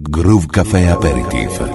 Groove Café Aperitif.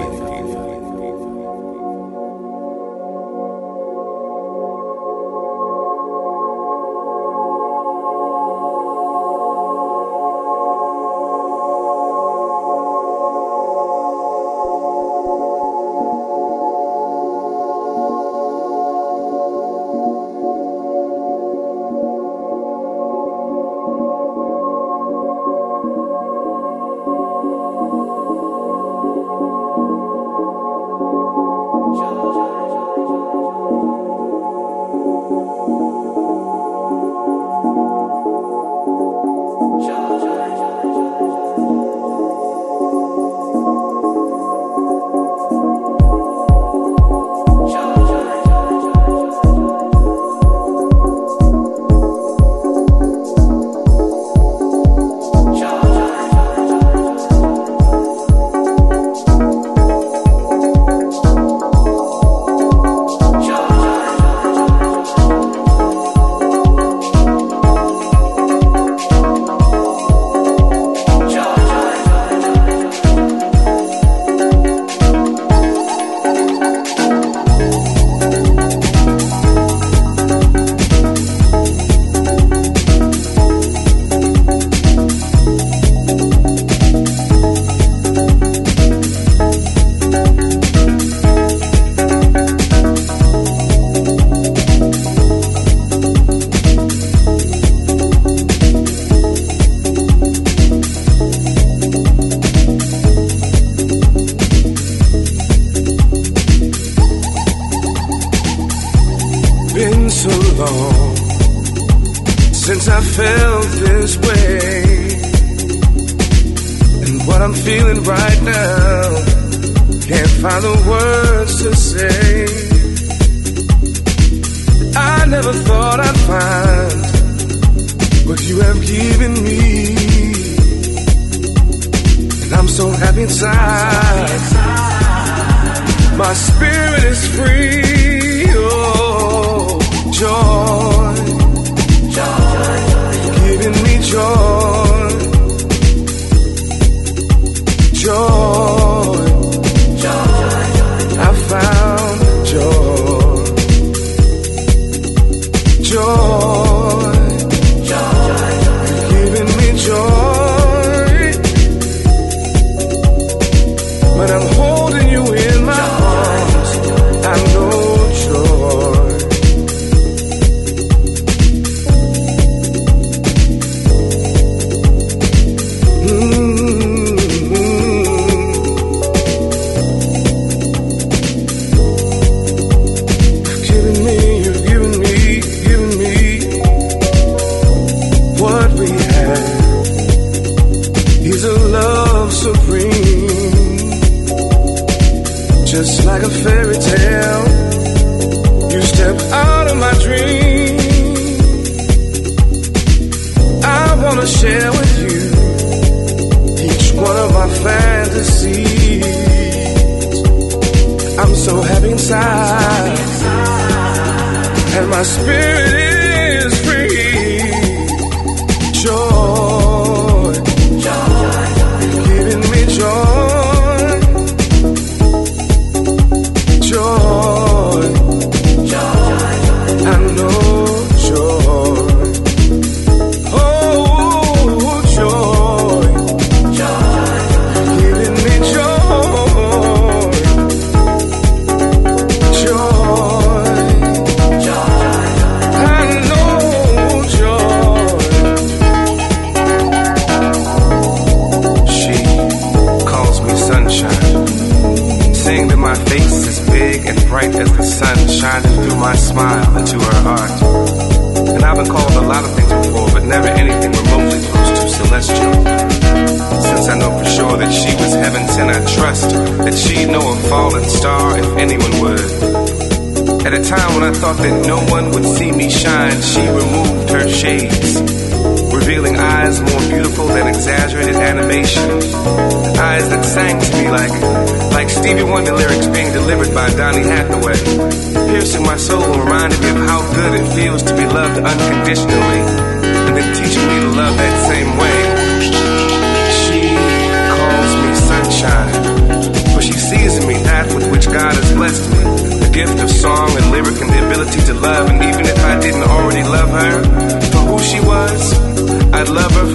Unconditionally, and then teaching me to love that same way. She calls me sunshine.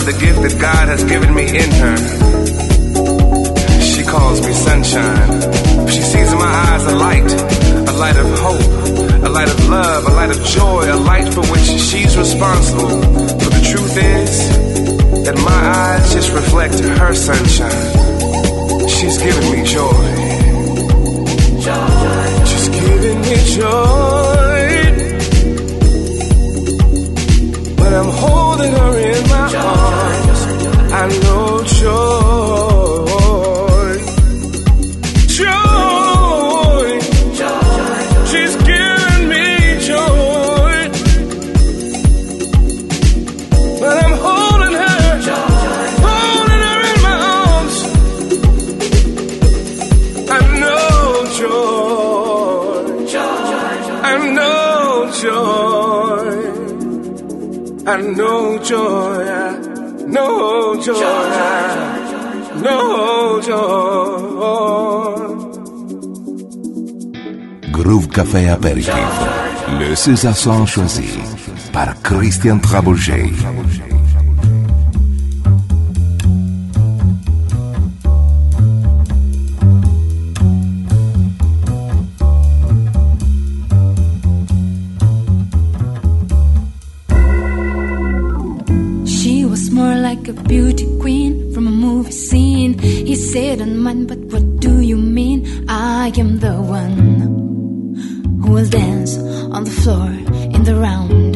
love the gift that God has given me in her. She calls me sunshine. She sees in my eyes a light of hope, a light of love, a light of joy, a light for which she's responsible. But the truth is that my eyes just reflect her sunshine. She's giving me joy. She's giving me joy. When I'm holding her in my arms, I know joy. Joy. She's giving me joy. When I'm holding her in my arms, I know joy. I know joy. I know joy, I know joy, I know joy. Groove Café Apéritif, le César son choisi par Christian Travolgei. Like a beauty queen from a movie scene. He said on mine, but what do you mean? I am the one who will dance on the floor in the round.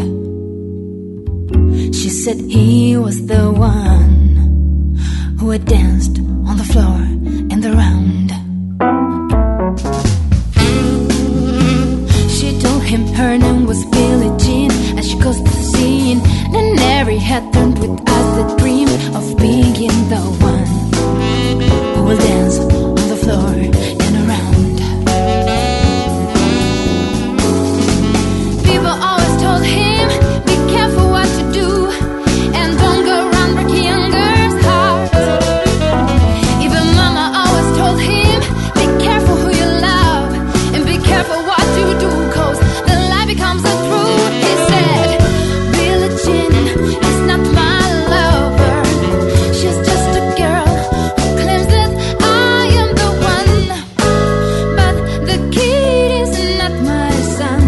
She said he was the one who had danced on the floor in the round. She told him her name was Billie Jean as she goes to the scene. And every head turned with us the dream of being the one who will dance on the floor and around. People always told him, be careful what you do, and don't go around breaking young girls' hearts. Even mama always told him, be careful who you love, and be careful what you do, cause the lie becomes the truth. He said, Billie Jean is not my lover. She's just a girl who claims that I am the one. But the kid is not my son.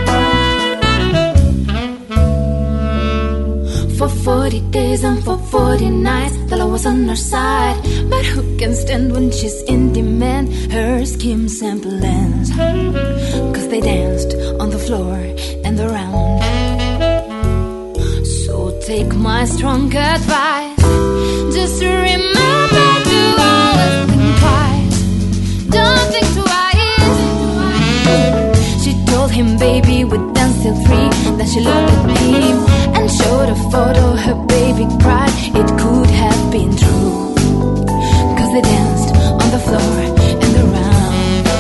For 40 days and for 40 nights, the law was on her side. But who can stand when she's in demand? Her schemes and plans, cause they danced on the floor and around. So take my strong advice, just remember to always think twice. Don't think twice. She told him, baby, we danced till 3. Then she looked at him and showed a photo. Her baby cried, it could have been true, cause they danced on the floor and around.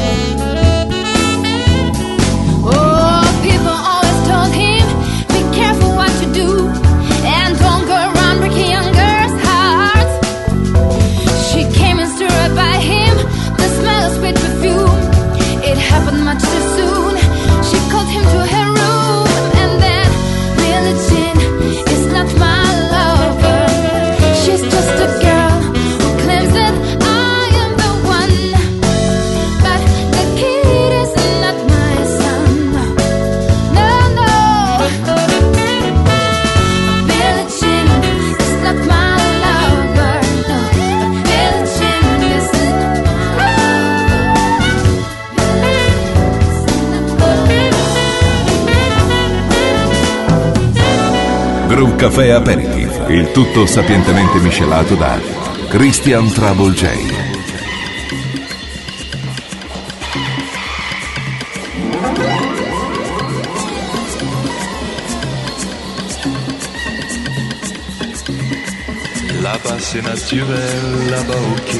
Oh, people always told him, be careful what you do, and don't go around breaking young girls' hearts. She came and stood right by him, the smell of sweet perfume. It happened much too soon. She called him to her room, and then Billie Jean is not my lover. She's just a girl who claims that I am the one. But the kid is not my son. No, no. Billie Jean is not my lover. No, Billie Jean is Groove Café Aperitif, il tutto sapientemente miscelato da Christian Travolgei. Là-bas c'est naturel, là-bas ok.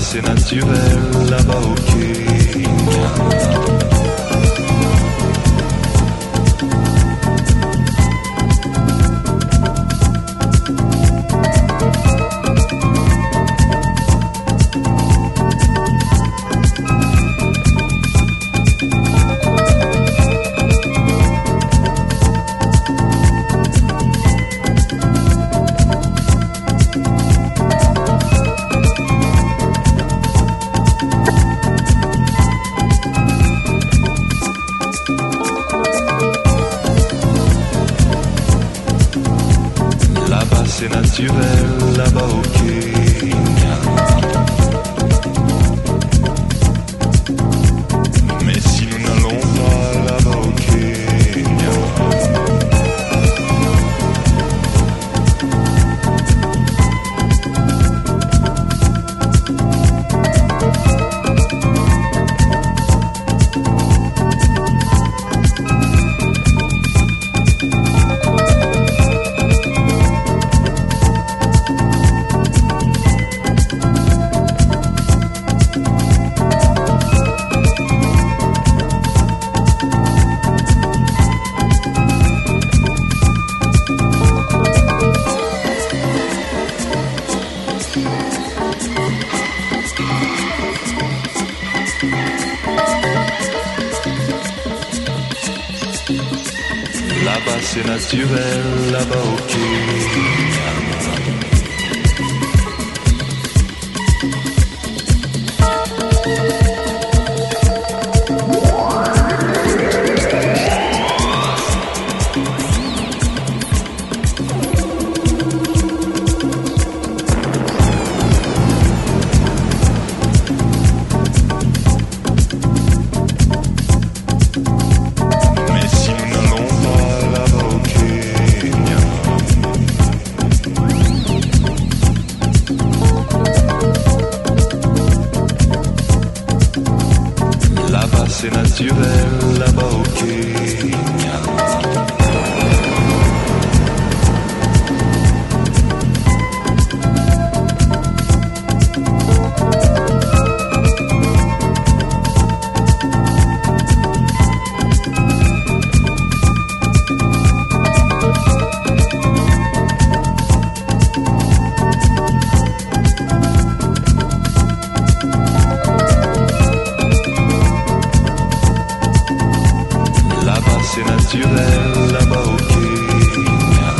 c'est naturel là-bas au Kenya. C'est naturel là-bas au Kenya. Mais si nous n'allons pas là-bas au Kenya, là-bas c'est naturel là-bas au Kenya. C'est naturel là-bas au Kenya. C'est naturel là-bas au Kenya.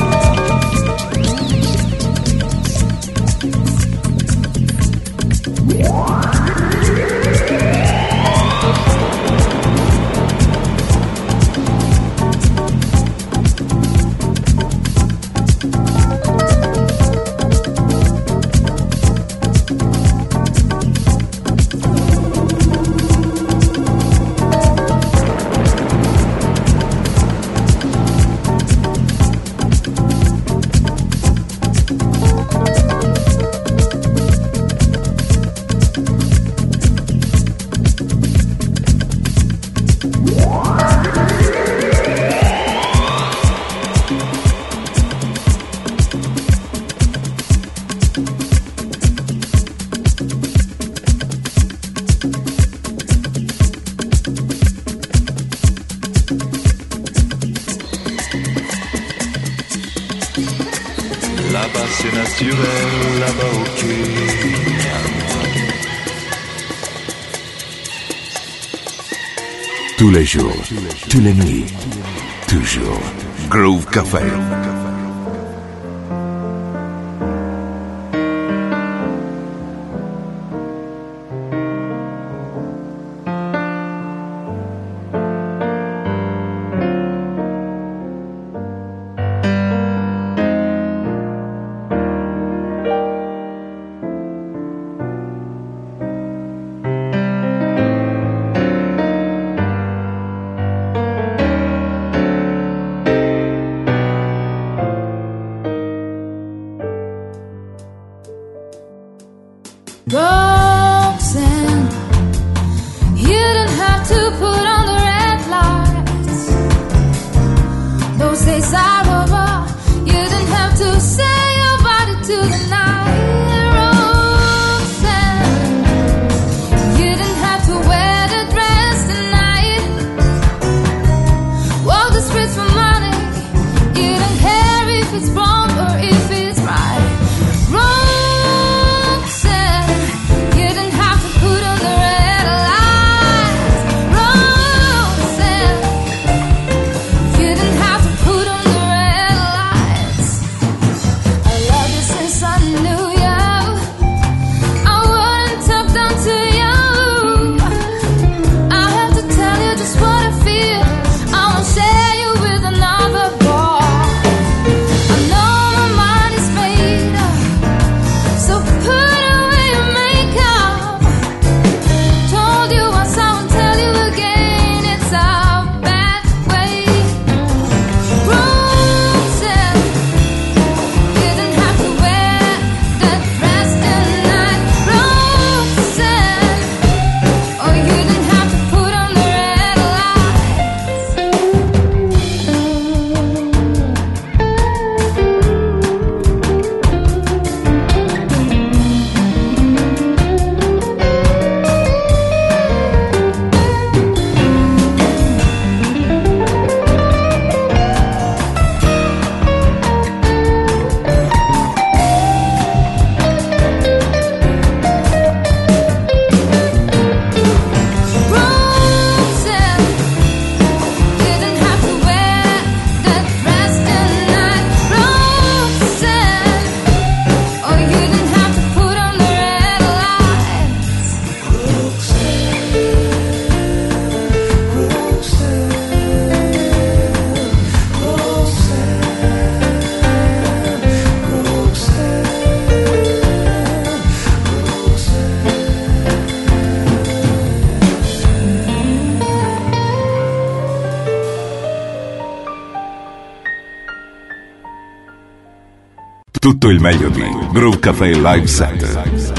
Là-bas c'est naturel, là-bas au Kenya. Tous les jours, toutes les nuits, toujours. Groove Café. Roxanne, you didn't have to put on the red lights. Those days are over. You didn't have to say your body to the night. Roxanne, Tutto il meglio di Groove Café Live Set.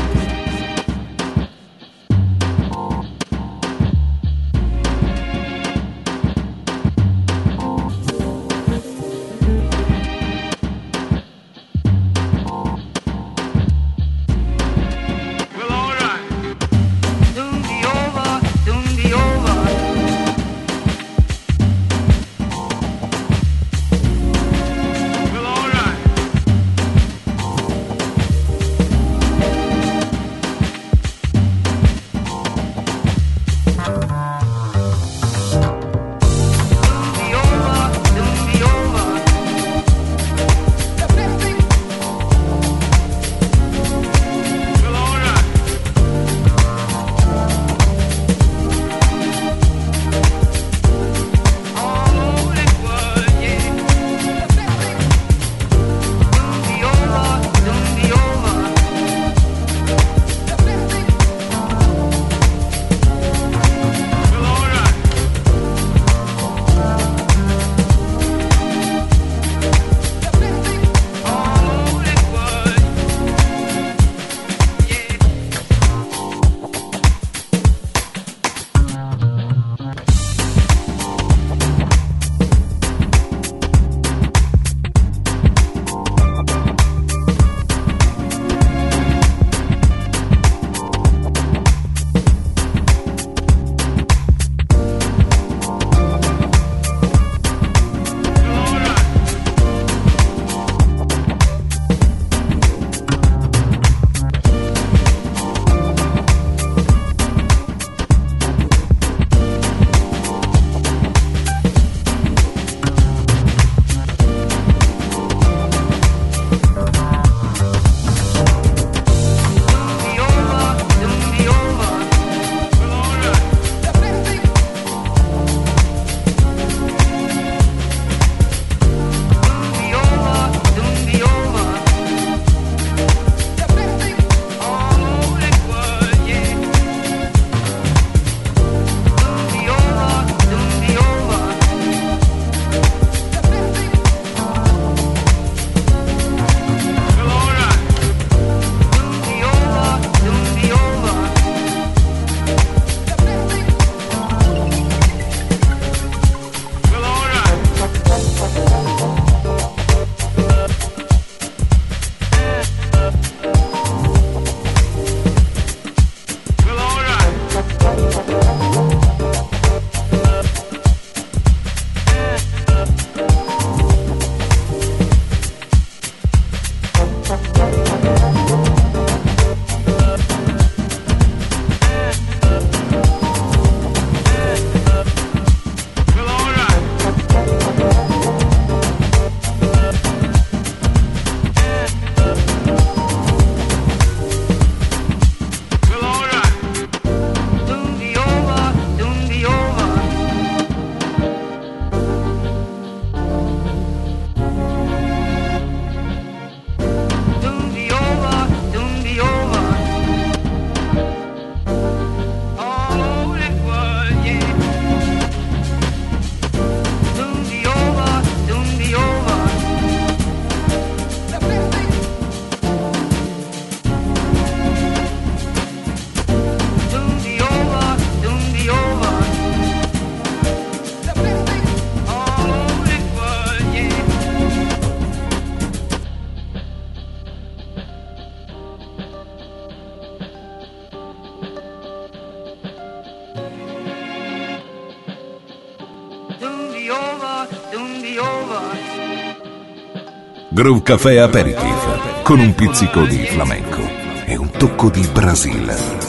Groove Café Aperitif con un pizzico di flamenco e un tocco di Brasile.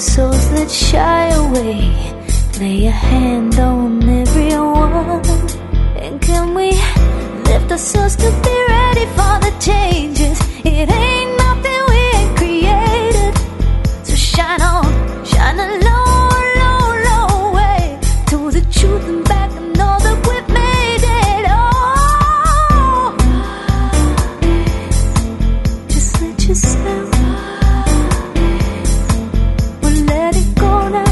souls that shy away. Lay a hand on everyone. And can we lift ourselves to be ready for the changes? It ain't nothing we ain't created. So shine on, shine a low, low, low way to the truth and back and know that we've made it. Oh, just let yourself. Well, let it go now.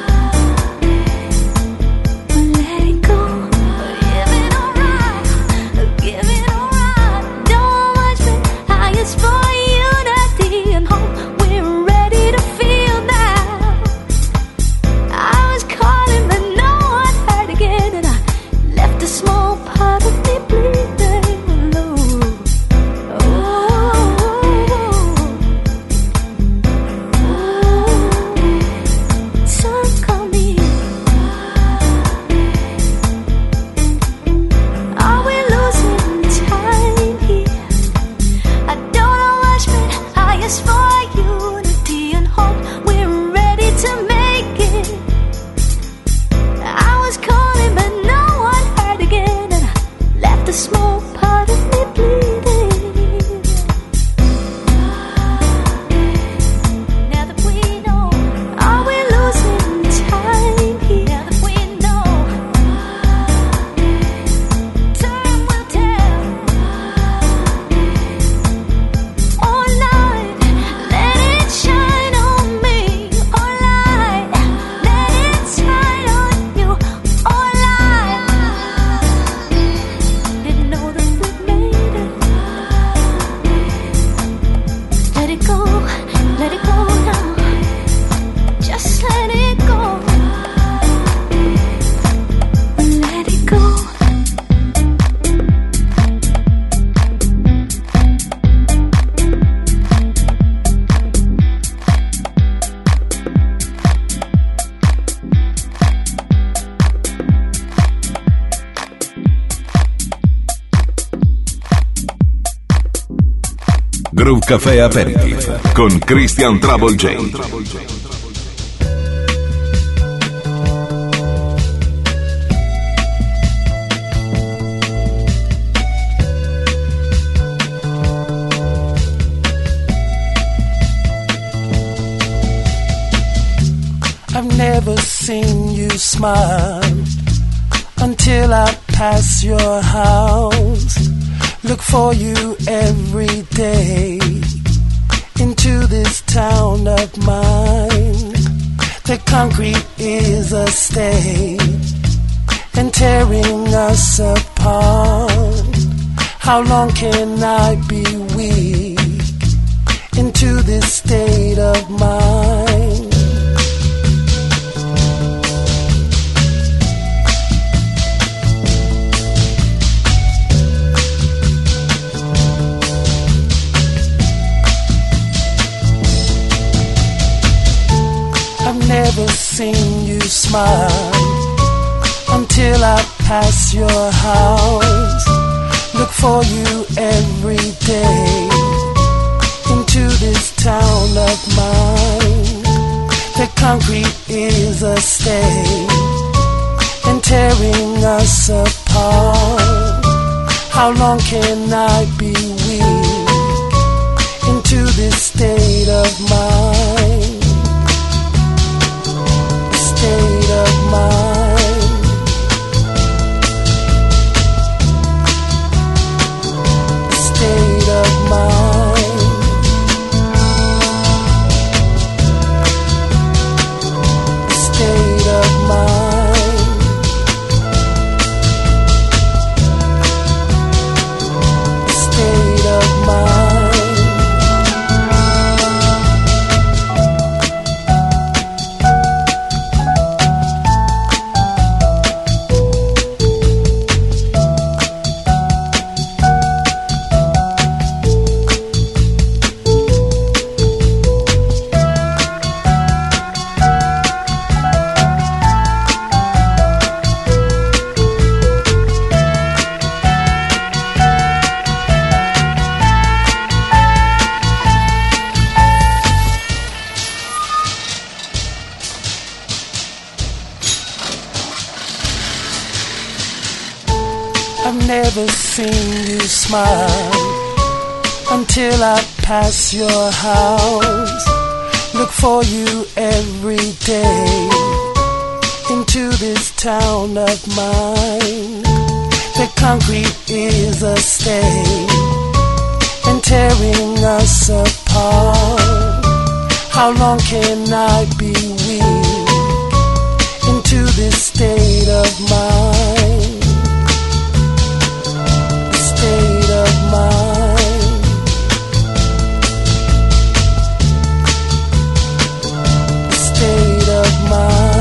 Groove Café Aperitif con Christian Trouble J. I've never seen you smile until I pass your house. Look for you every day into this town of mine. The concrete is a state and tearing us apart. How long can I be weak into this state of mind? Never seen you smile until I pass your house. Look for you every day into this town of mine. The concrete is a state and tearing us apart. How long can I be weak into this state of mind? State of mind. State of mind. State of mind. State of mind. never seen you smile until I pass your house. Look for you every day into this town of mine. The concrete is a stain and tearing us apart. How long can I be weak into this state of mind? State of mind. State of mind.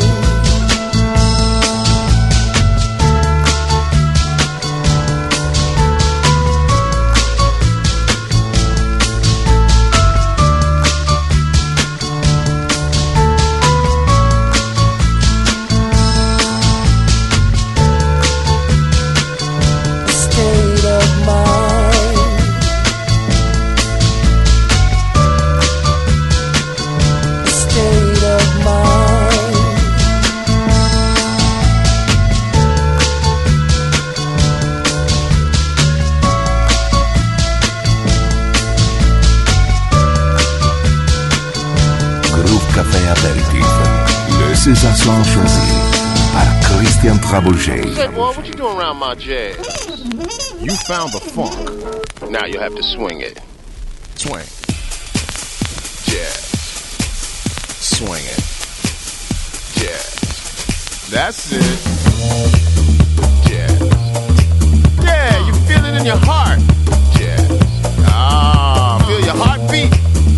Sensations choisies par Christian Trabouget. Say, boy, what you doing around my jazz? You found the funk. Now you have to swing it. Swing. Jazz. Swing it. Jazz. That's it. Jazz. Yeah, you feel it in your heart. Jazz. Ah, feel your heartbeat.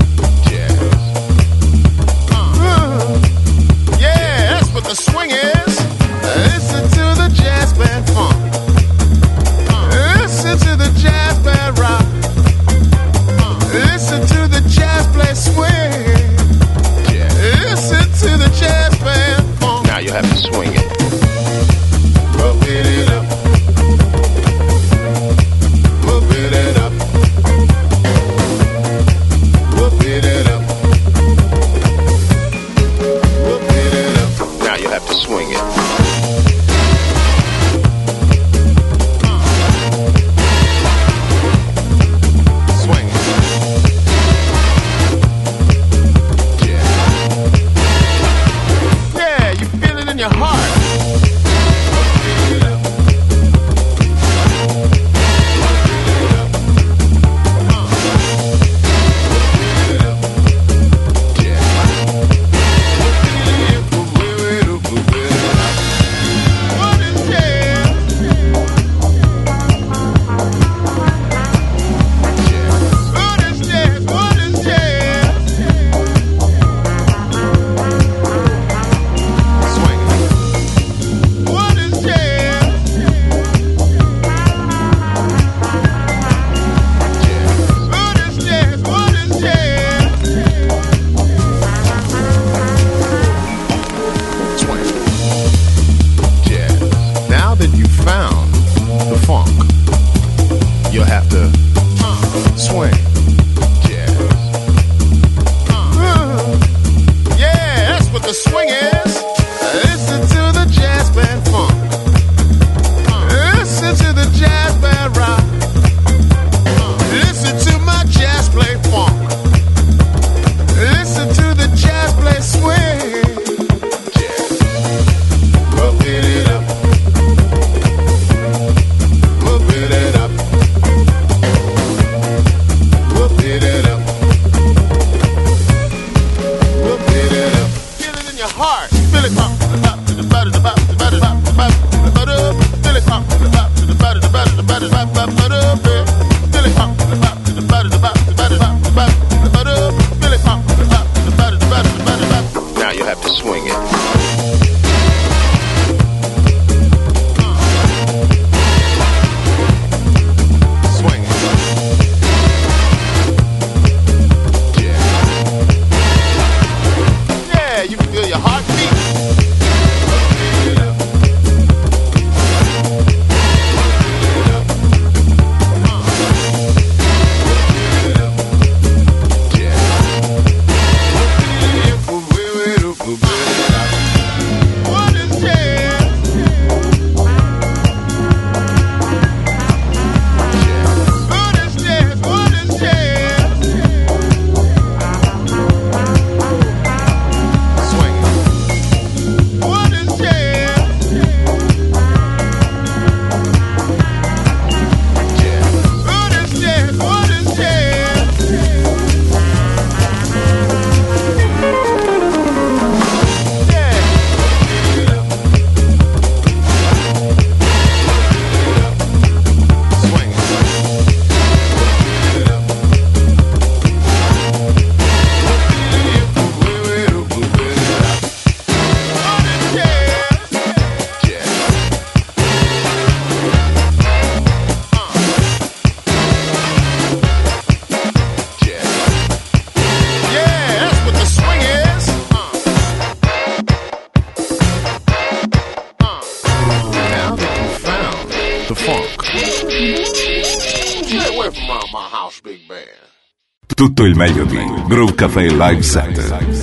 What the swing is, listen to the jazz band funk, listen to the jazz band rock, listen to the jazz play swing, listen to the jazz band funk. Now you have to swing it. Move it up, move it up, move it up. You have to swing it. Swing it. Yeah. Yeah, you feel it in your heart. Pick it up. Tutto il meglio di Groove Café Live Set.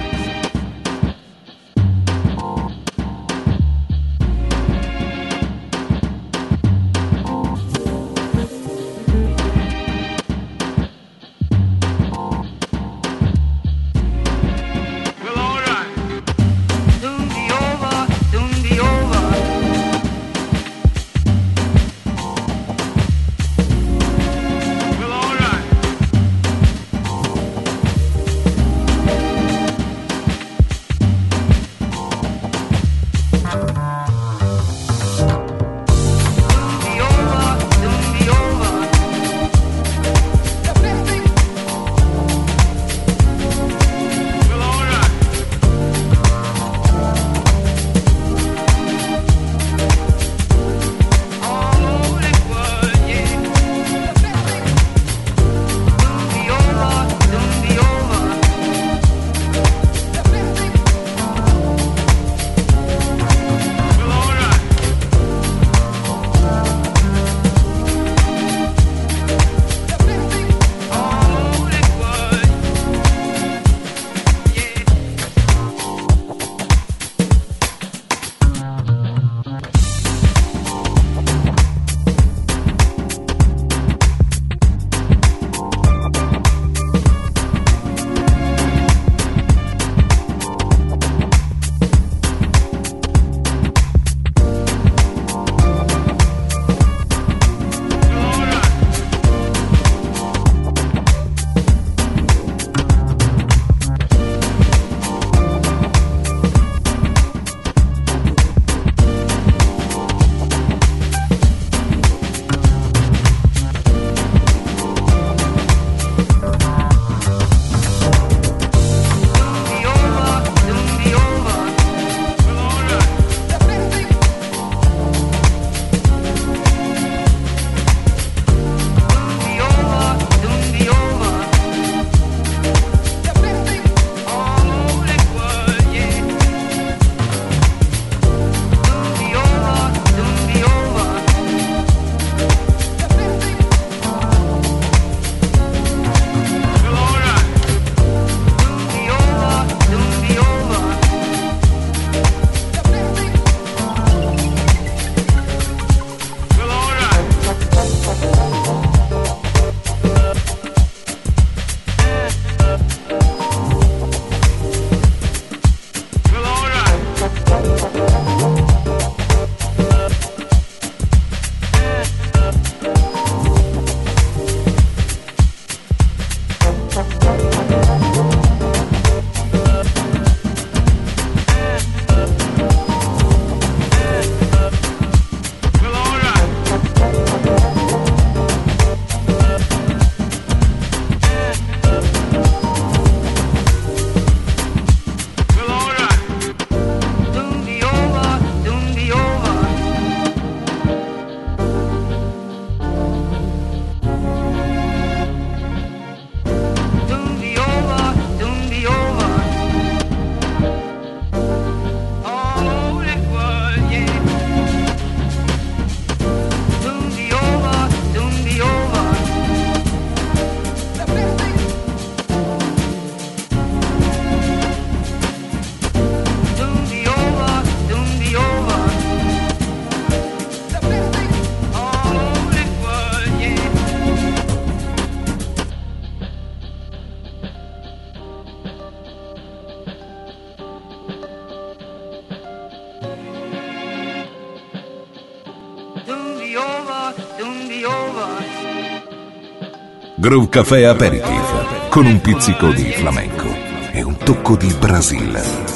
Groove Café Aperitif con un pizzico di flamenco e un tocco di Brasile.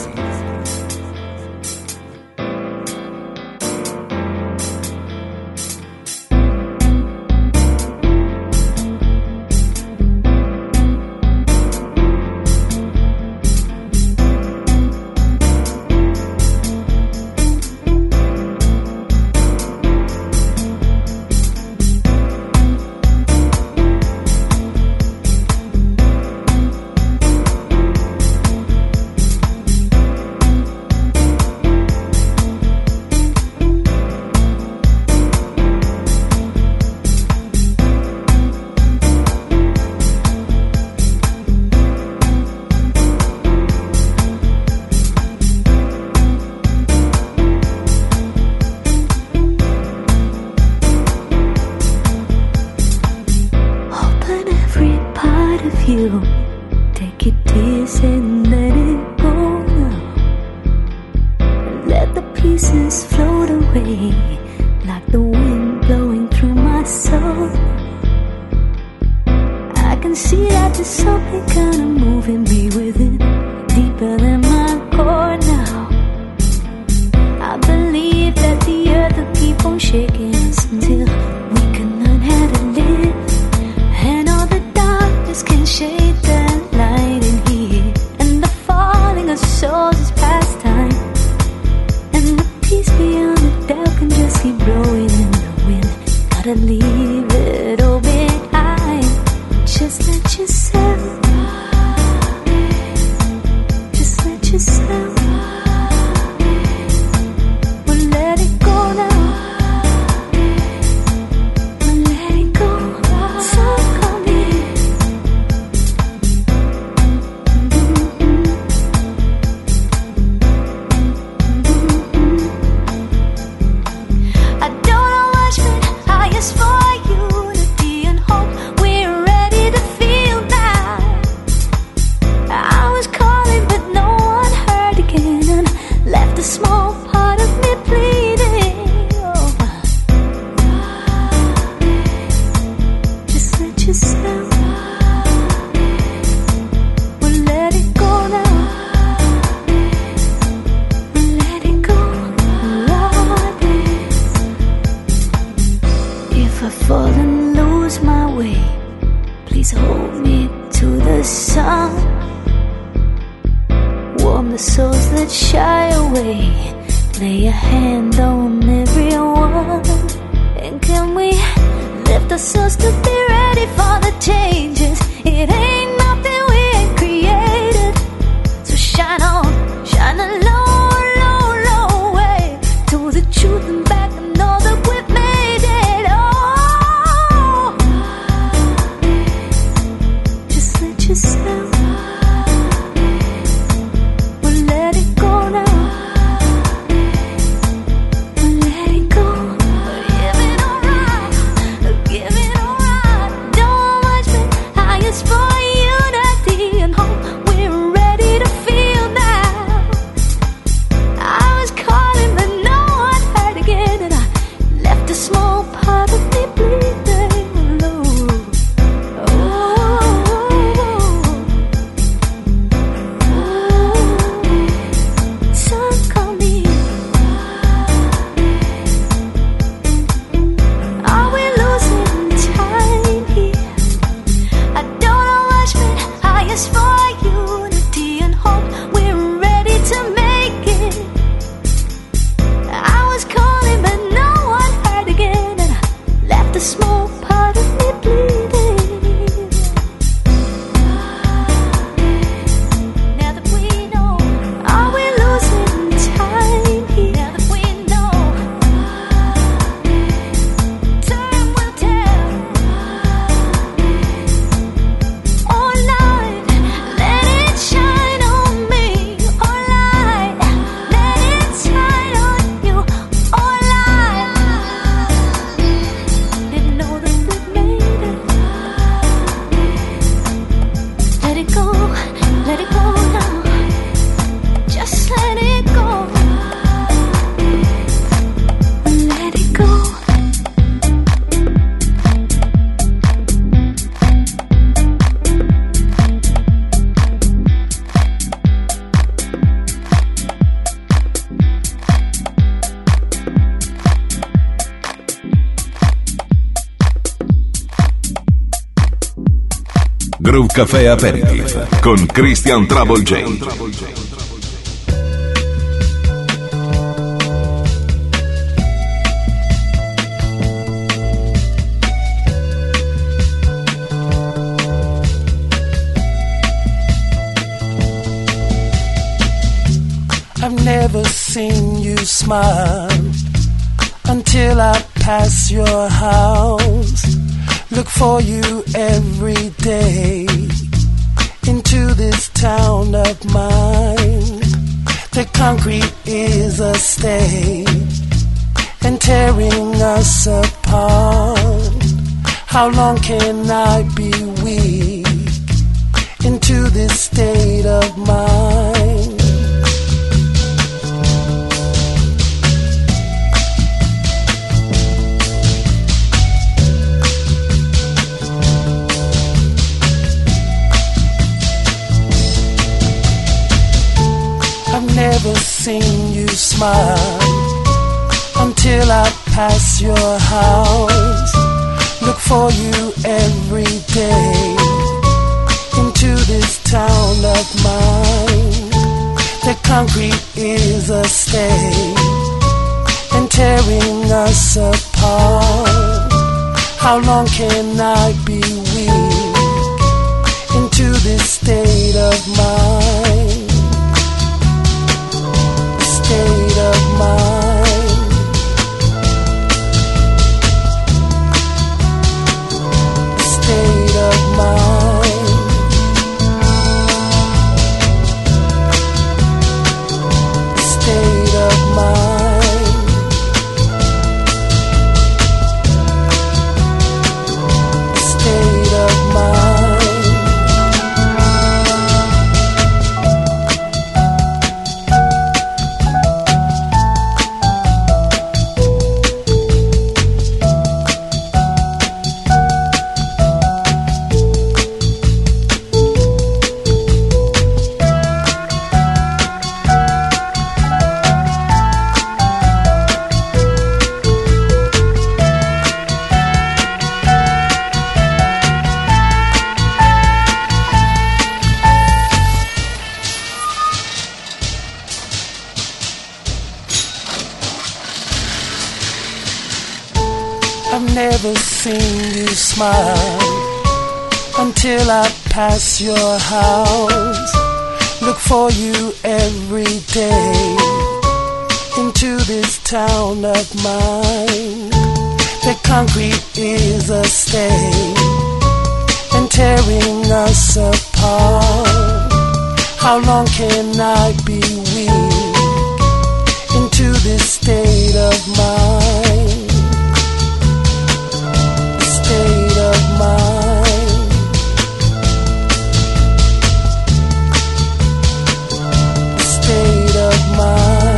from the souls that shy away. Lay a hand on everyone. And can we lift ourselves to be ready for the changes? It ain't nothing we ain't created. So shine on, shine a low, low, low way to the truth and back and know that we've made it. Oh, just let yourself. We'll let it go now. For unity and hope, we're ready to feel now. I was calling but no one heard again, and I left a small part of me bleeding low. Sun call me. Are we losing time here? I don't know much, but I ask for unity and hope. We're ready to make it. I was calling, but no one heard again, and I left a small part of me bleeding. Now that we know, are we losing time here? Now that we know, time will tell. Oh light, let it shine on me. Oh light, let it shine on you. Oh light, didn't know that we've made it. Let it go now. Just let it go. Let it go. Groove Café Aperitif con Christian Trouble J. I've never seen you smile until I pass your house. Look for you every day into this town of mine. The concrete is a stain and tearing us apart. How long can I be weak into this state of mind? I've never seen you smile until I pass your house. Look for you every day into this town of mine. The concrete is a stain and tearing us apart. How long can I be weak into this state of mind? State of mind. State of mind. State of mind. State of mind. I've never seen you smile until I pass your house. Look for you every day into this town of mine. The concrete is a stain and tearing us apart. How long can I be weak into this state of mind? State of mind. State of mind.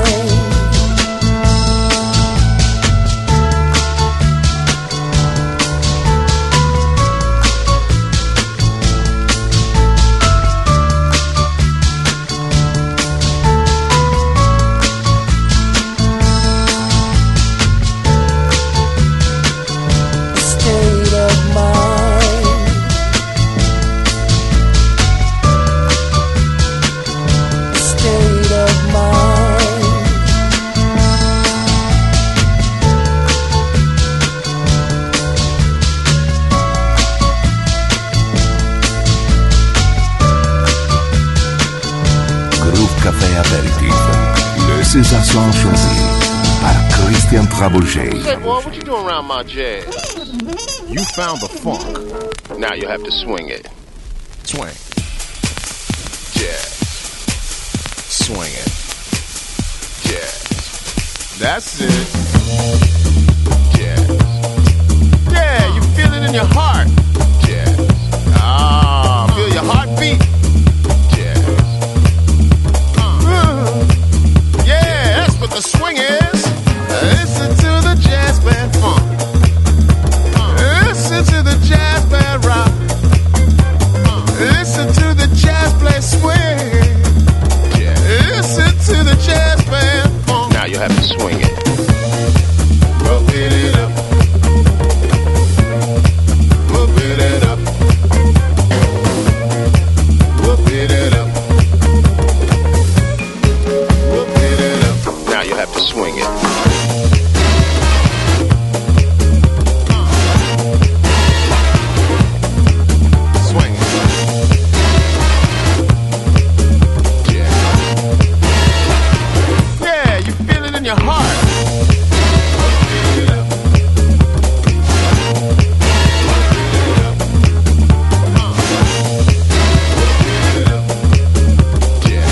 Sensations choisies par Christian Trabouget. Say, boy, what you doing around my jazz? You found the funk. Now you have to swing it. Swing. Jazz. Swing it. Jazz. That's it. Jazz. Yeah, you feel it in your heart. Jazz. Ah, feel your heartbeat. The swing is, listen to the jazz band funk. Listen to the jazz band rock. Listen to the jazz play swing. Listen to the jazz band funk. Now you have to swing it. Rub it up. Rub it up. Rub it up. You have to swing it. Swing it. Yeah. Yeah, you feel it in your heart. It up. It up. Yeah.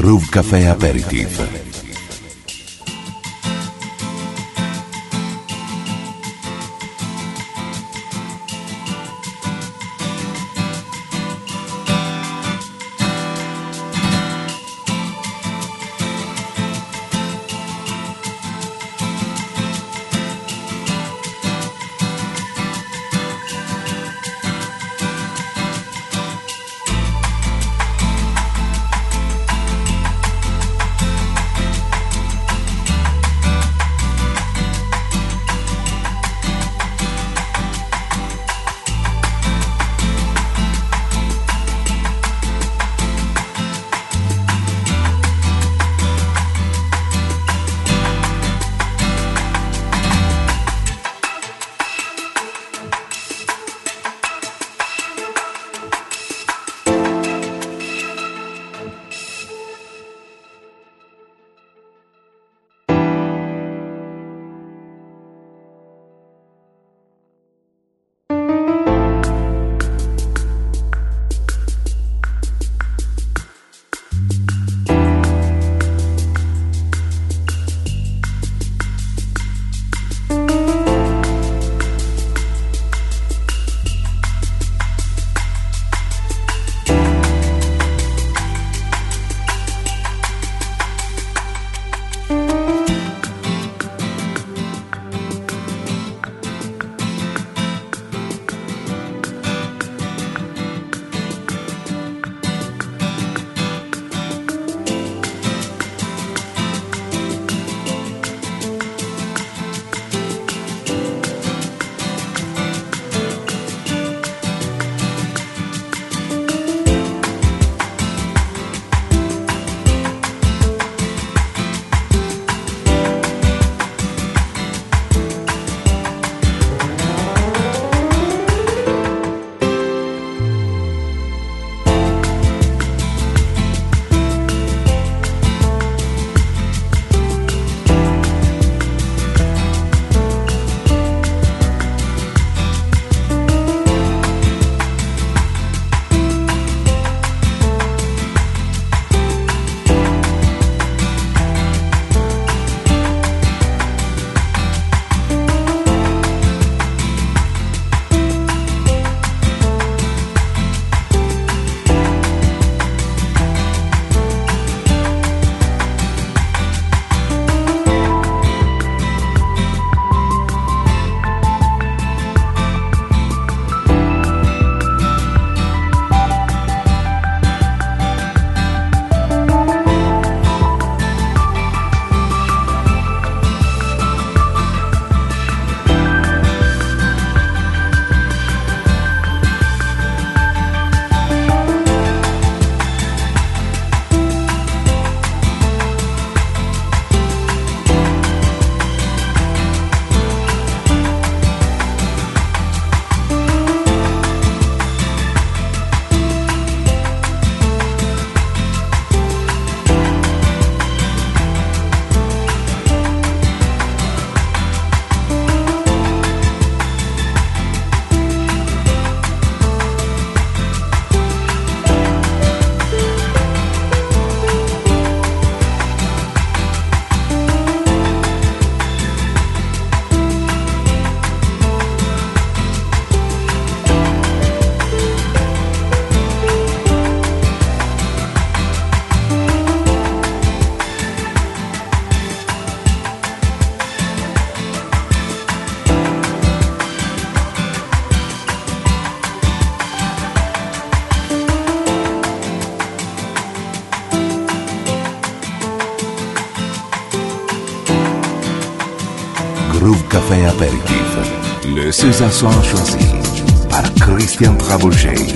Groove Café Aperitif. Groove Café Aperitif. Le César Soir choisi par Christian Trabouchet.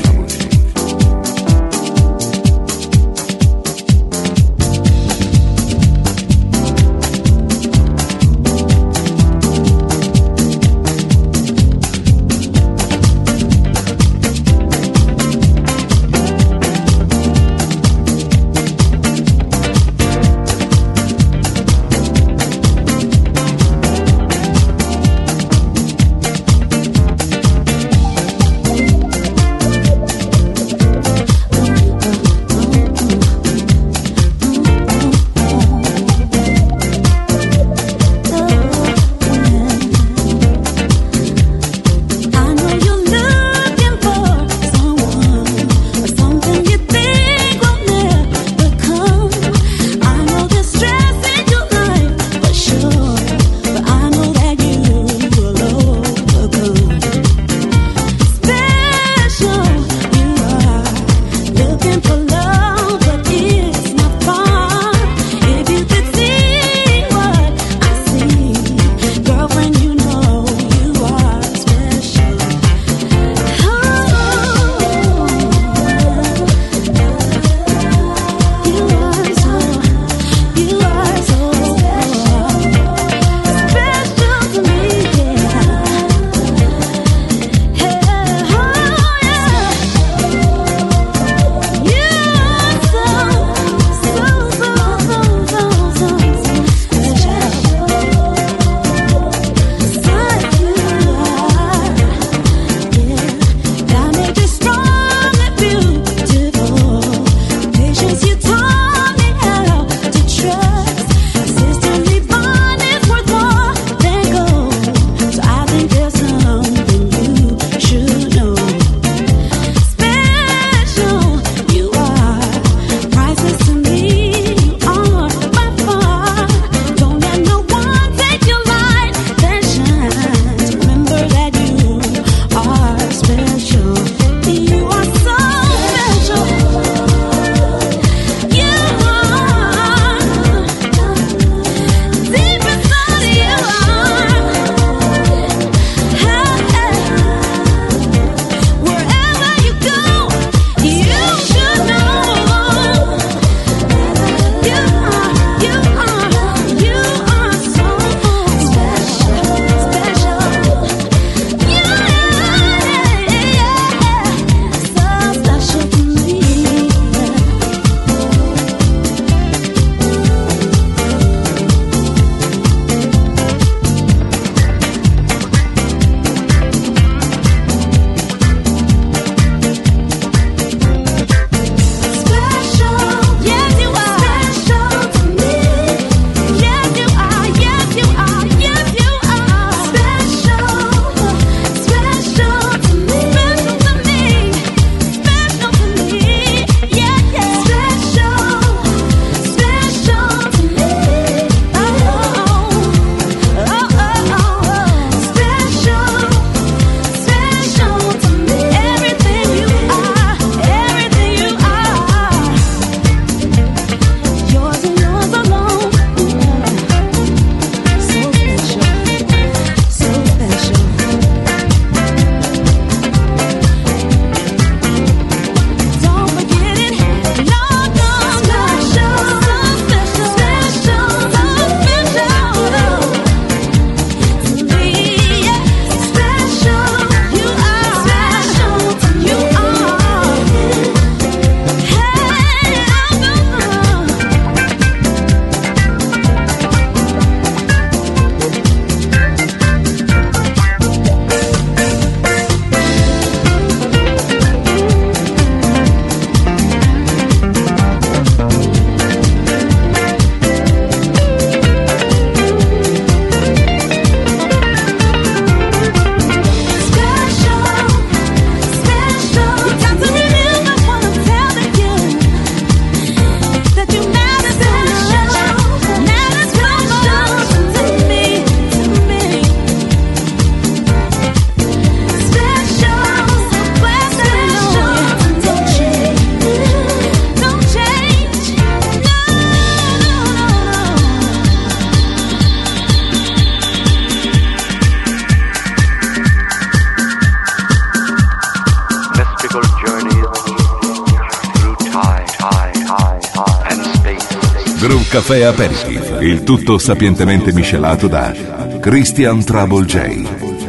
Caffè Aperitif, il tutto sapientemente miscelato da Christian Trouble J.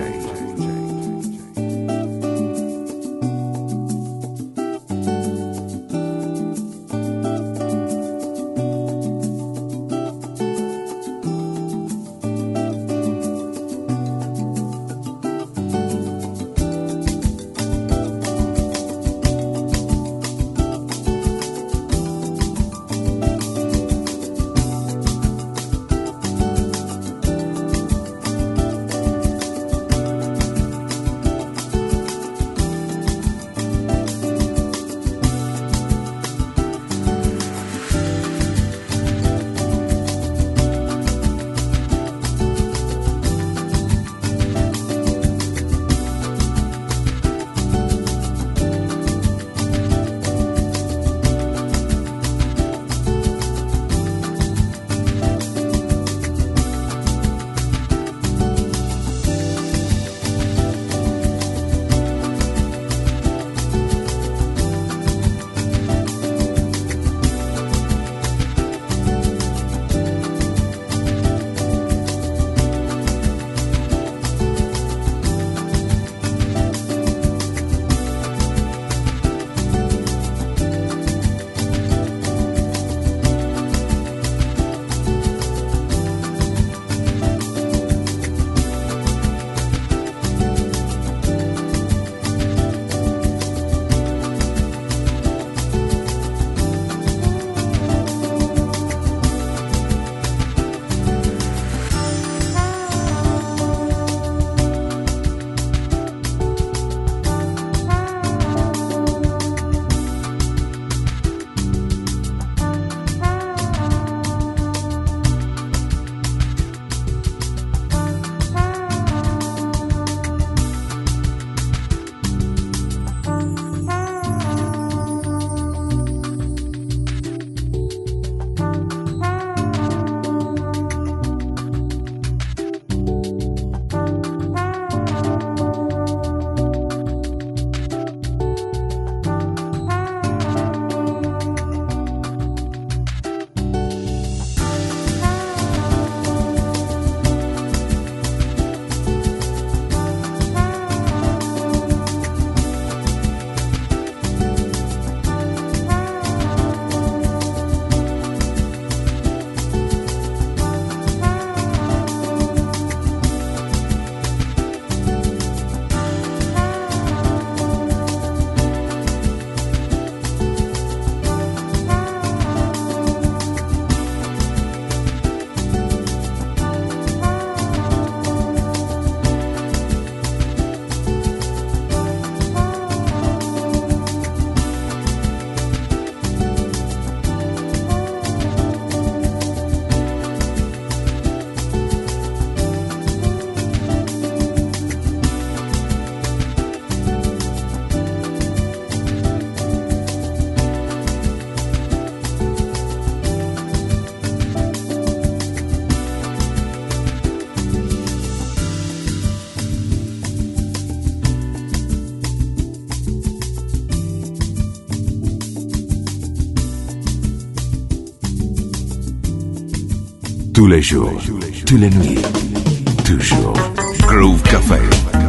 Tous les jours, toutes les nuits, toujours. Groove Café.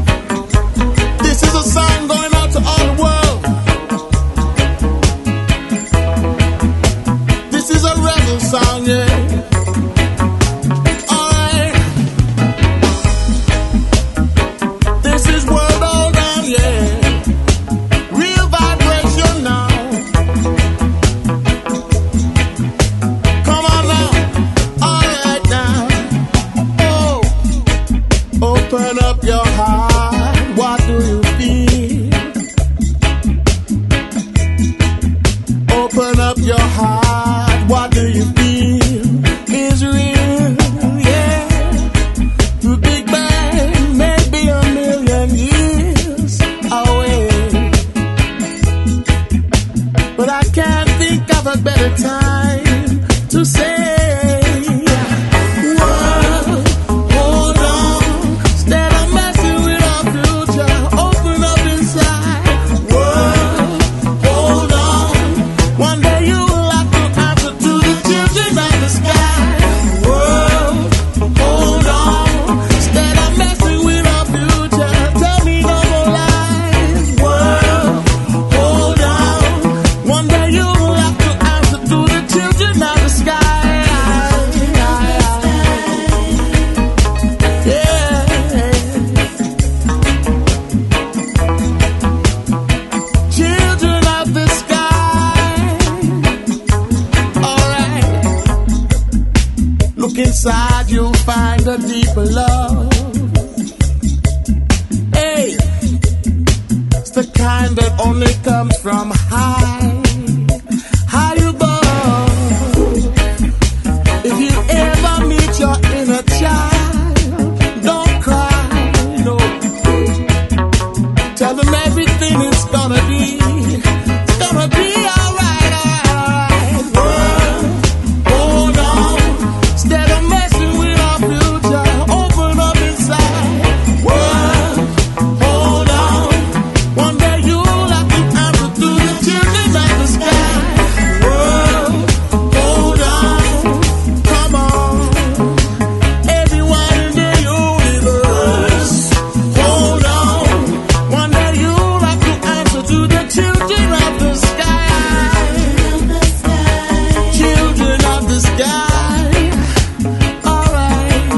This is a song going out to all the world. This is a rebel song, yeah. Alright. This is world all down, yeah. Real vibration now. Come on now. Alright now. Oh. Open up your heart. What do you feel? Open up your heart. What do you feel? Is real, yeah. The Big Bang may be a million years away, but I can't think of a better time to say, world, hold on, stand on find a deeper love. Hey, it's the kind that only comes from high above. If you ever meet your inner child, don't cry, no. Tell them everything is gonna be alright, alright. Hold on, instead of messing with our future, open up inside. Hold on, one day you'll have to answer to the children of the sky. Hold on, come on, everyone in the universe. Hold on, one day you'll have to answer to the children of the sky. Children of the sky. Alright.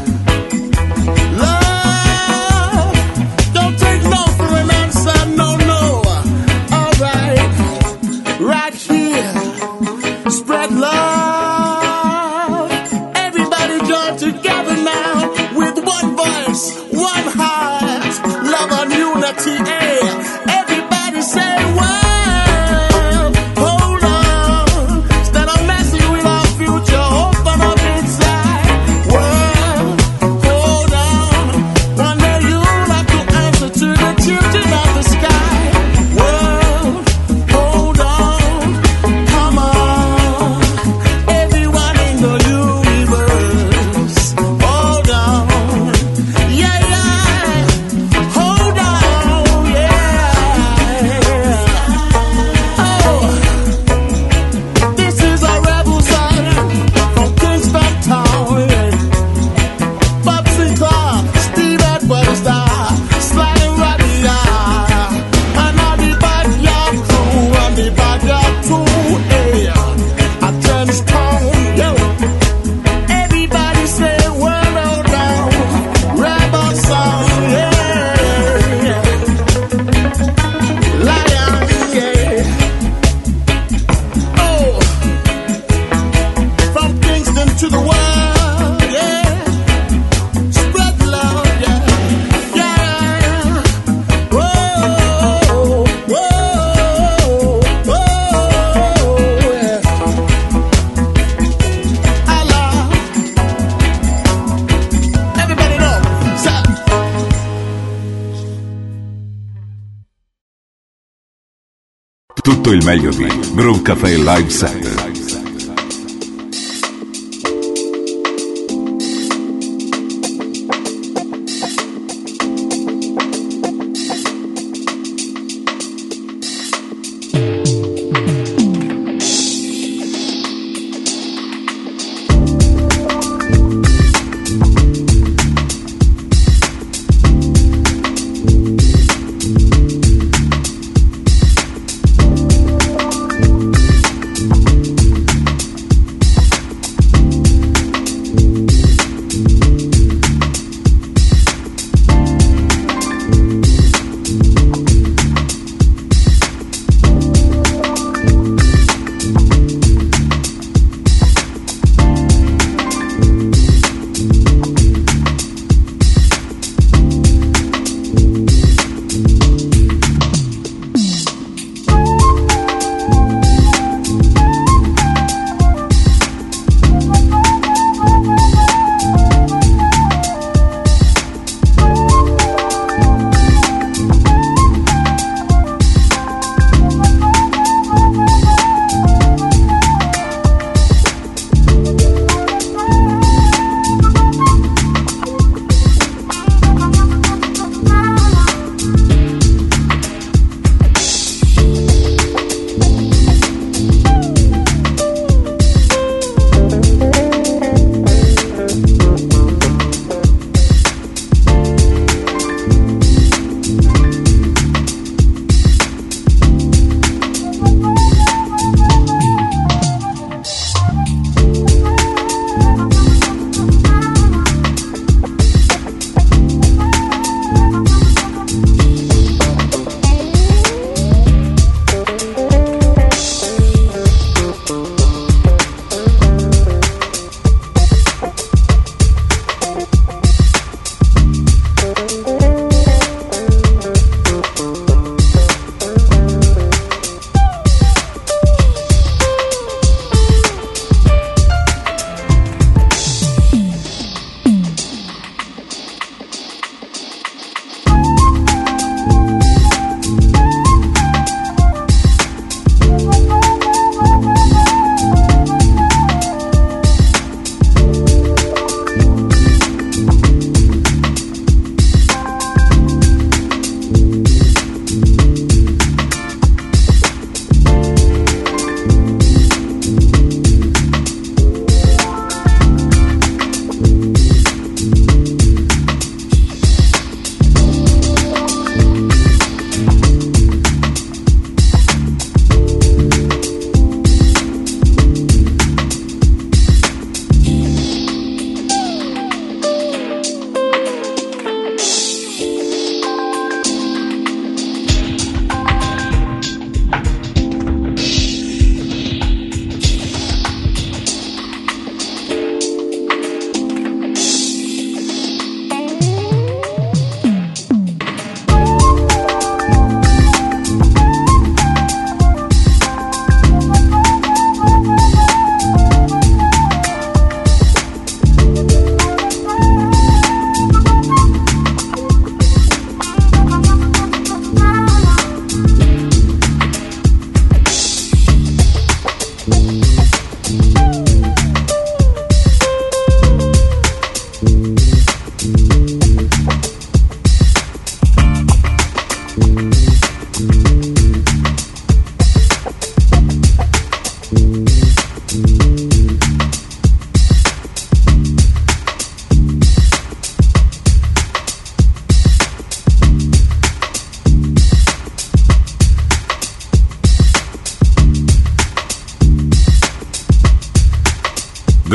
Love, don't take no for an answer, no. Alright. Right here. Spread love. Everybody join together now with one voice, one heart, love and unity. Hey, everybody say, well, hold on. Instead of messing with our future, open up inside. Well, hold on. One day you'll have to answer to the children of the sky. Well, hold on. Come on. Everyone in the universe. Hold on. Yeah. Hold on. Yeah. Oh, this is a rebel son from Kingston Town. Bubsy Clark, Steve Edwards, Sly and Roddy, and all the backyard crew, and the backyard crew. Hey, I turn this town, yo. Everybody say, well, hold on, rebel song, yeah. Lion, yeah. Oh, from Kingston to the world, yeah. Spread love, yeah. Whoa, yeah. Allah. Everybody know. Tutto il meglio di Groove Café Live Set.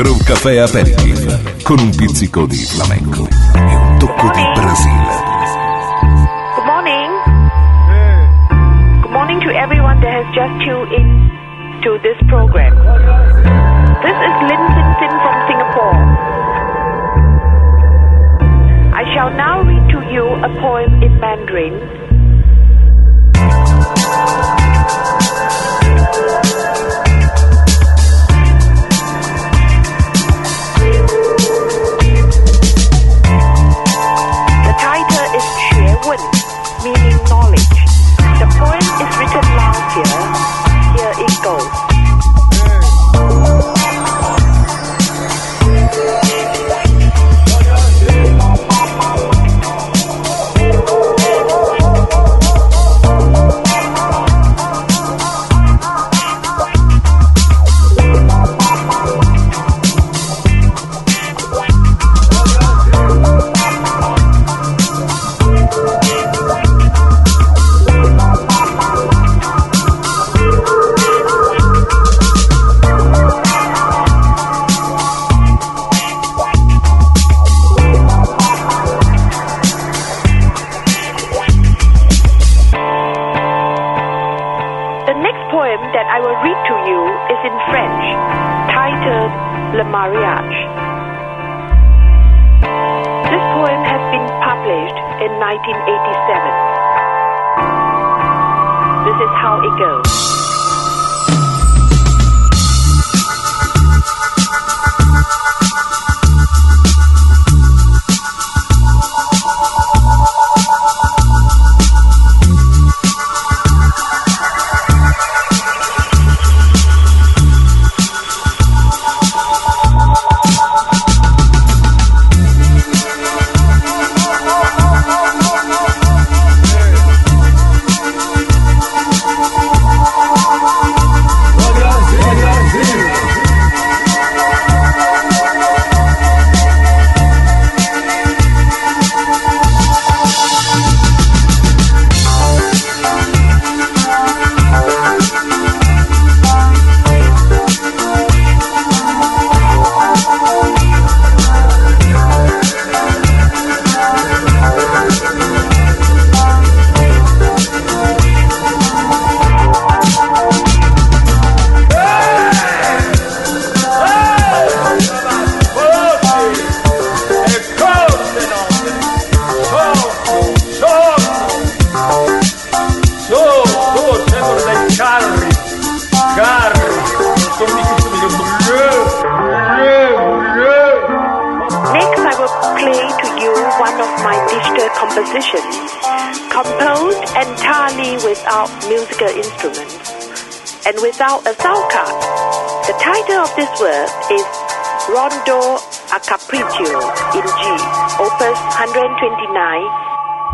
Groove Café Aperitif con un pizzico di flamenco e un tocco di Brasile. Good morning. Good morning to everyone that has just tuned in to this program. This is Lin Sin Sin from Singapore. I shall now read to you a poem in Mandarin. The title is Xue Wen, meaning knowledge. The poem is written last year. Here it goes. Le Mariage. This poem has been published in 1987. This is how it goes. Composed entirely without musical instruments and without a sound card. The title of this work is Rondo a Capriccio in G, Opus 129.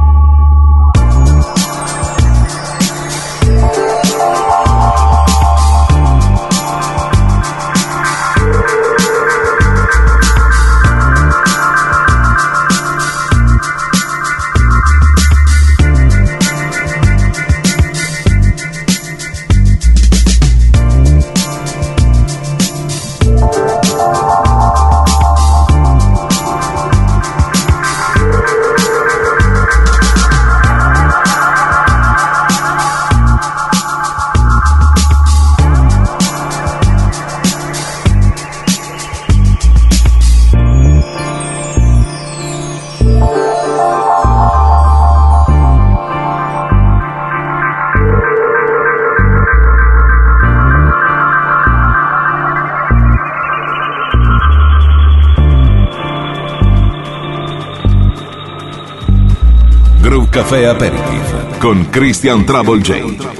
Groove Café Aperitif con Christian Trouble J.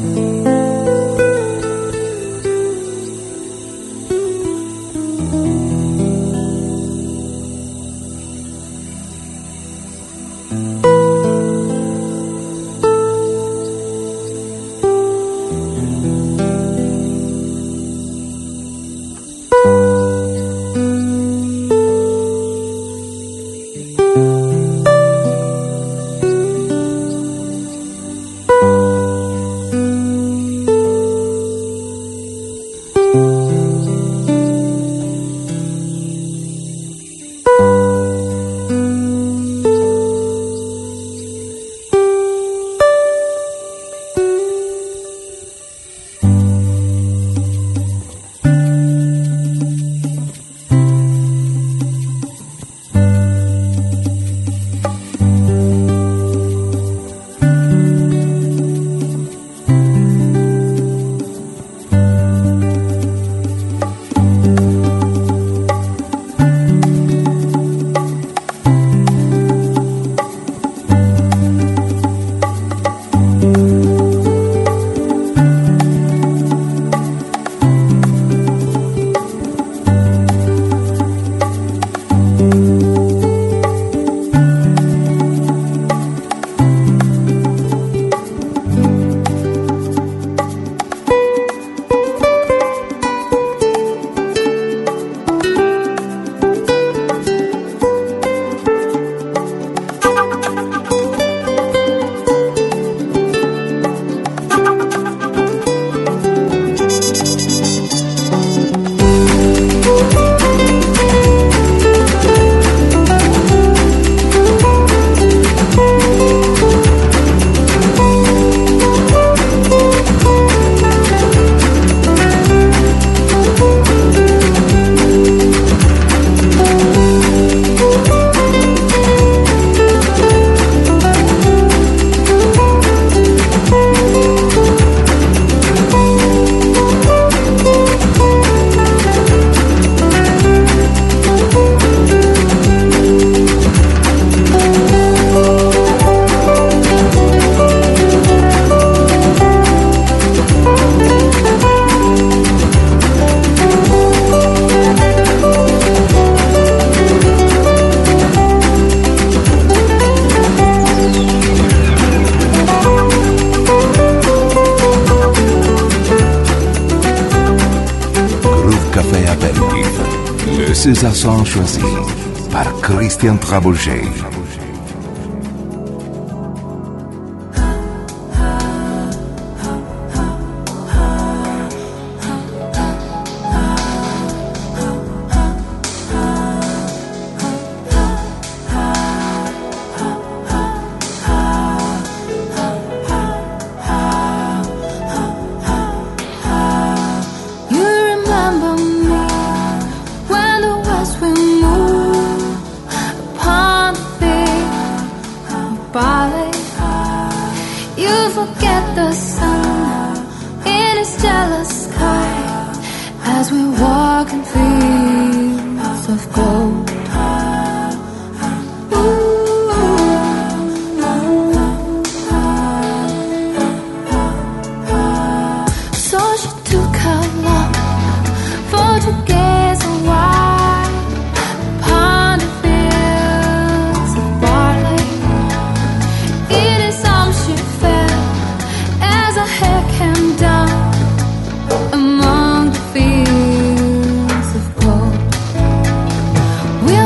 César sont choisis par Christian Trabouget. We'll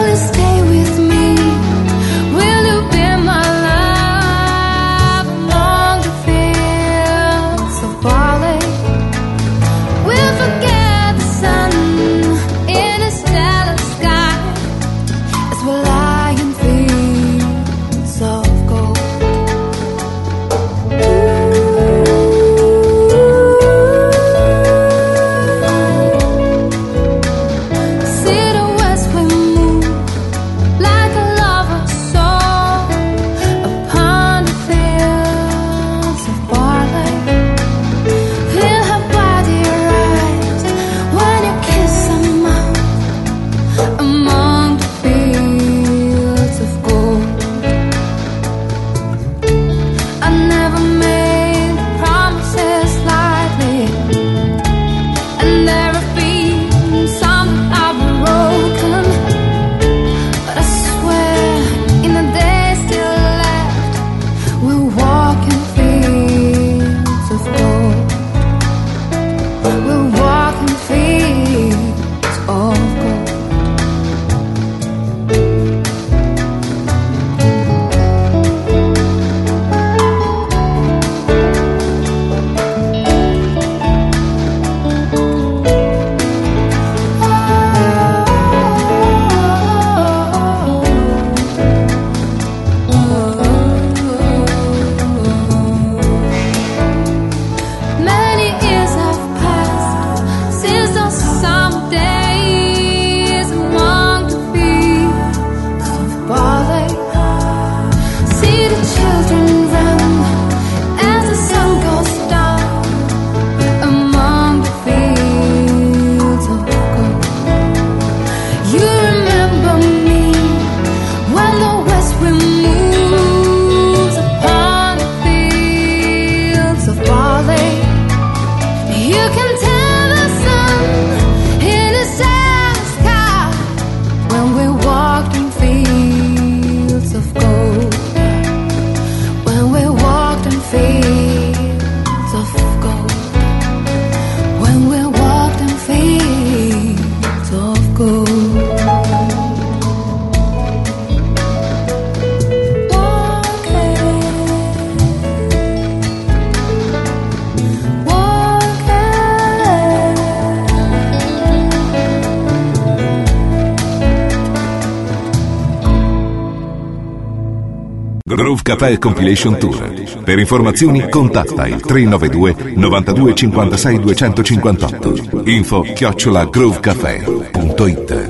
Groove Café Compilation Tour. Per informazioni contatta il 392 92 56 258. info@groovecafé.it.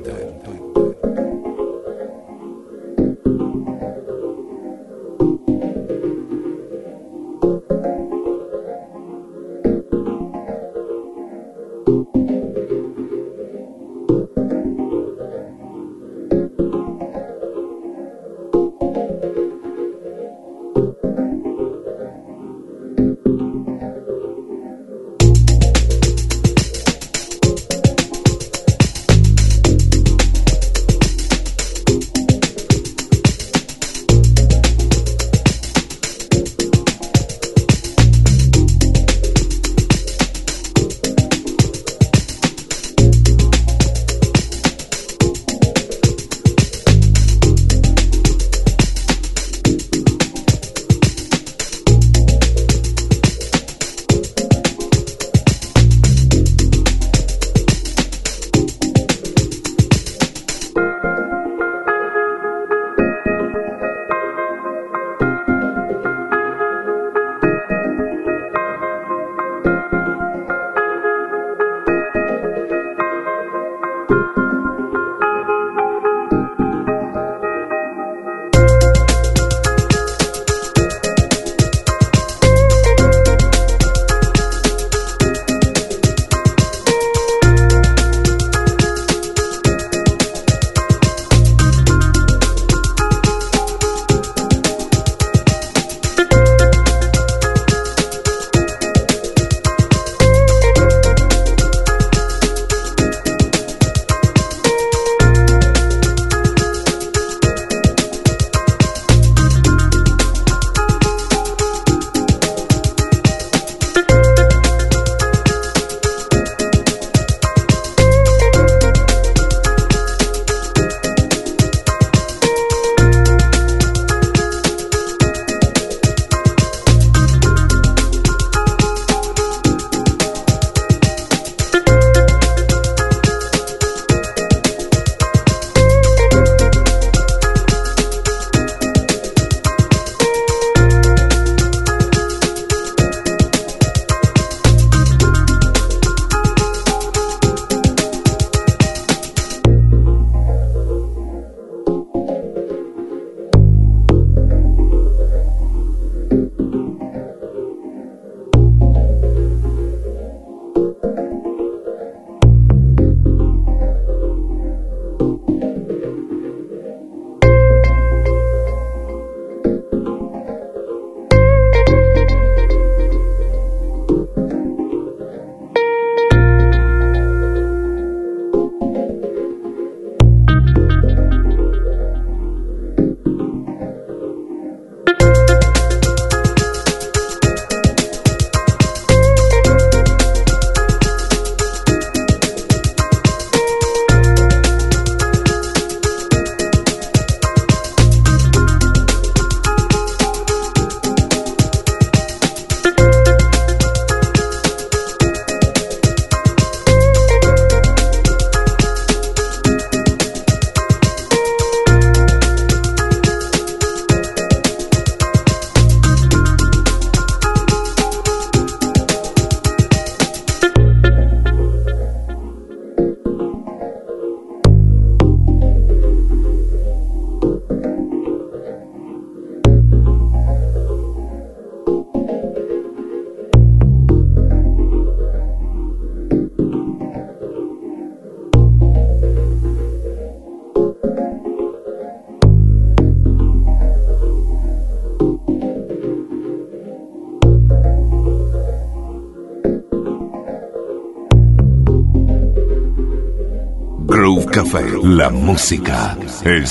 Groove Café, la música, el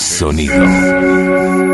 sonido.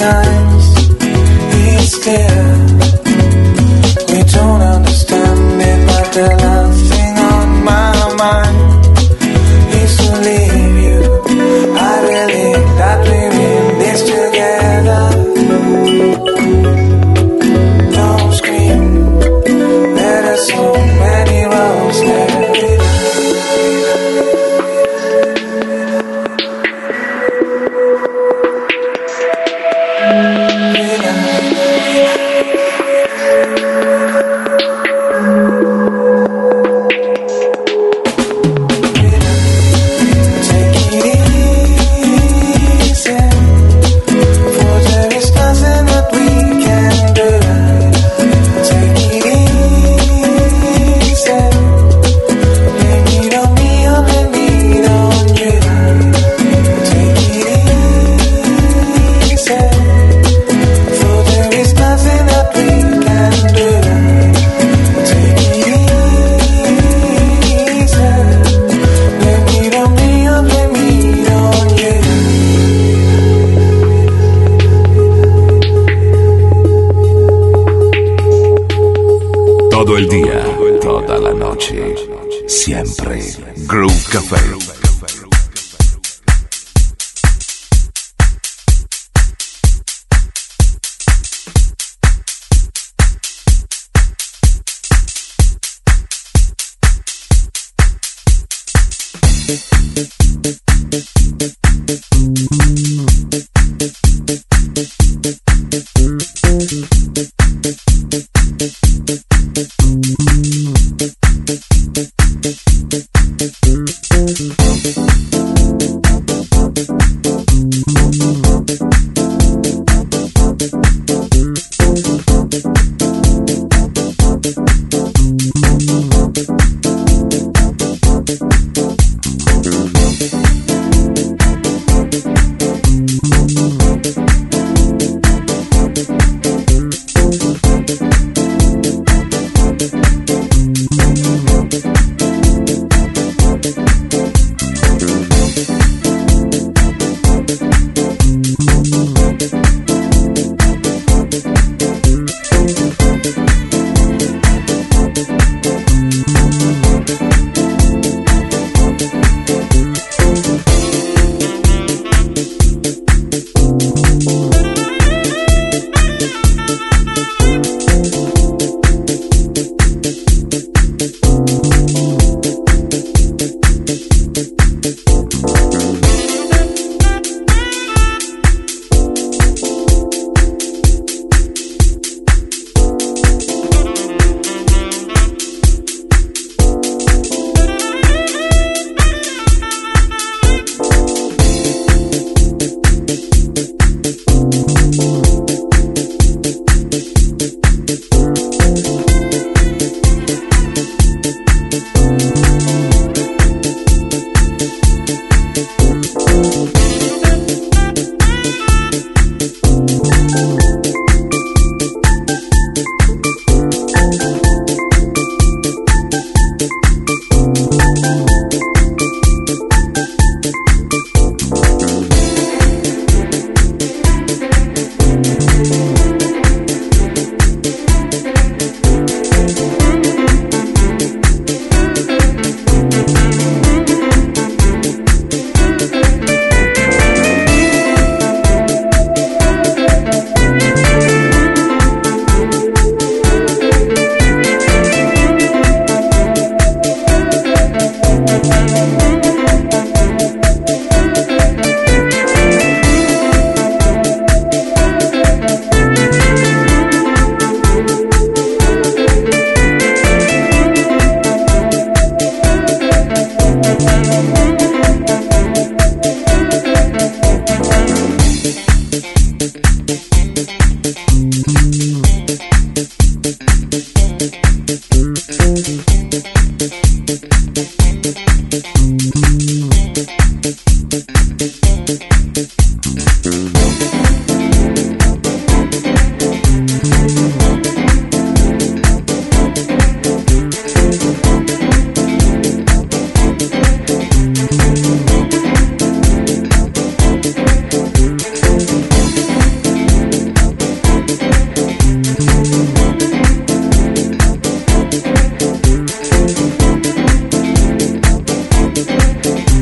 sometimes it's clear we don't understand it, but the last thing on my mind is to leave you. I believe that we're in this together. Don't scream, there are so many roads there. Todo el día, toda la noche, siempre Groove Café.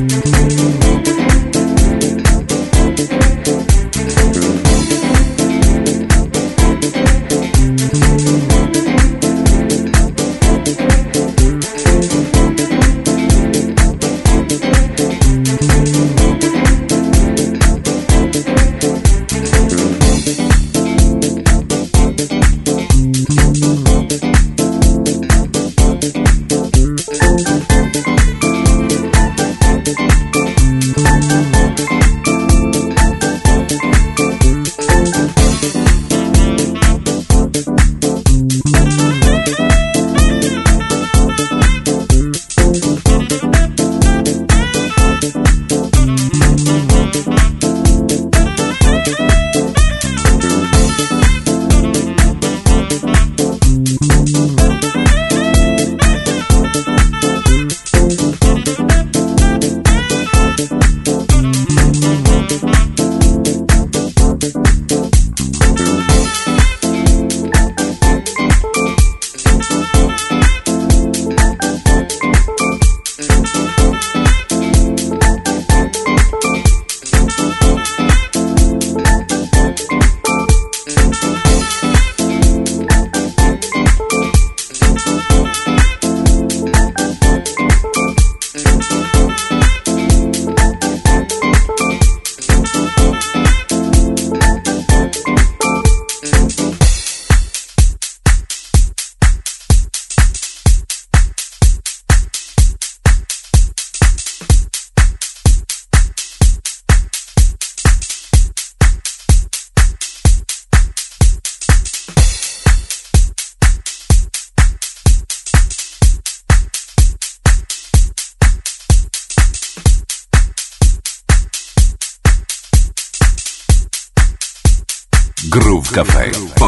Groove Café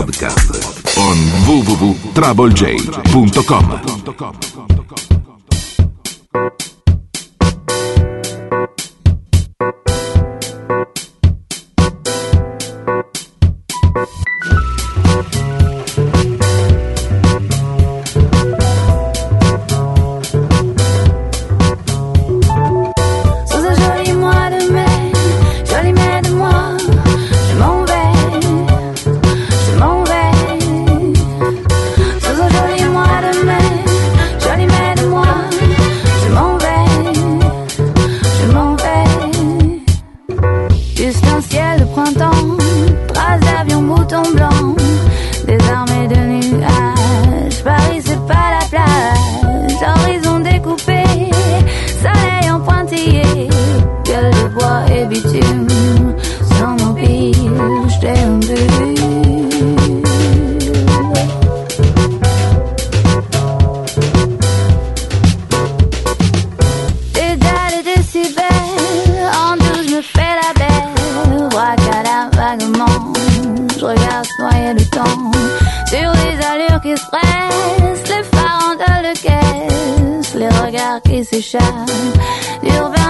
Podcast on www.troublej.com. Qui s'échappe du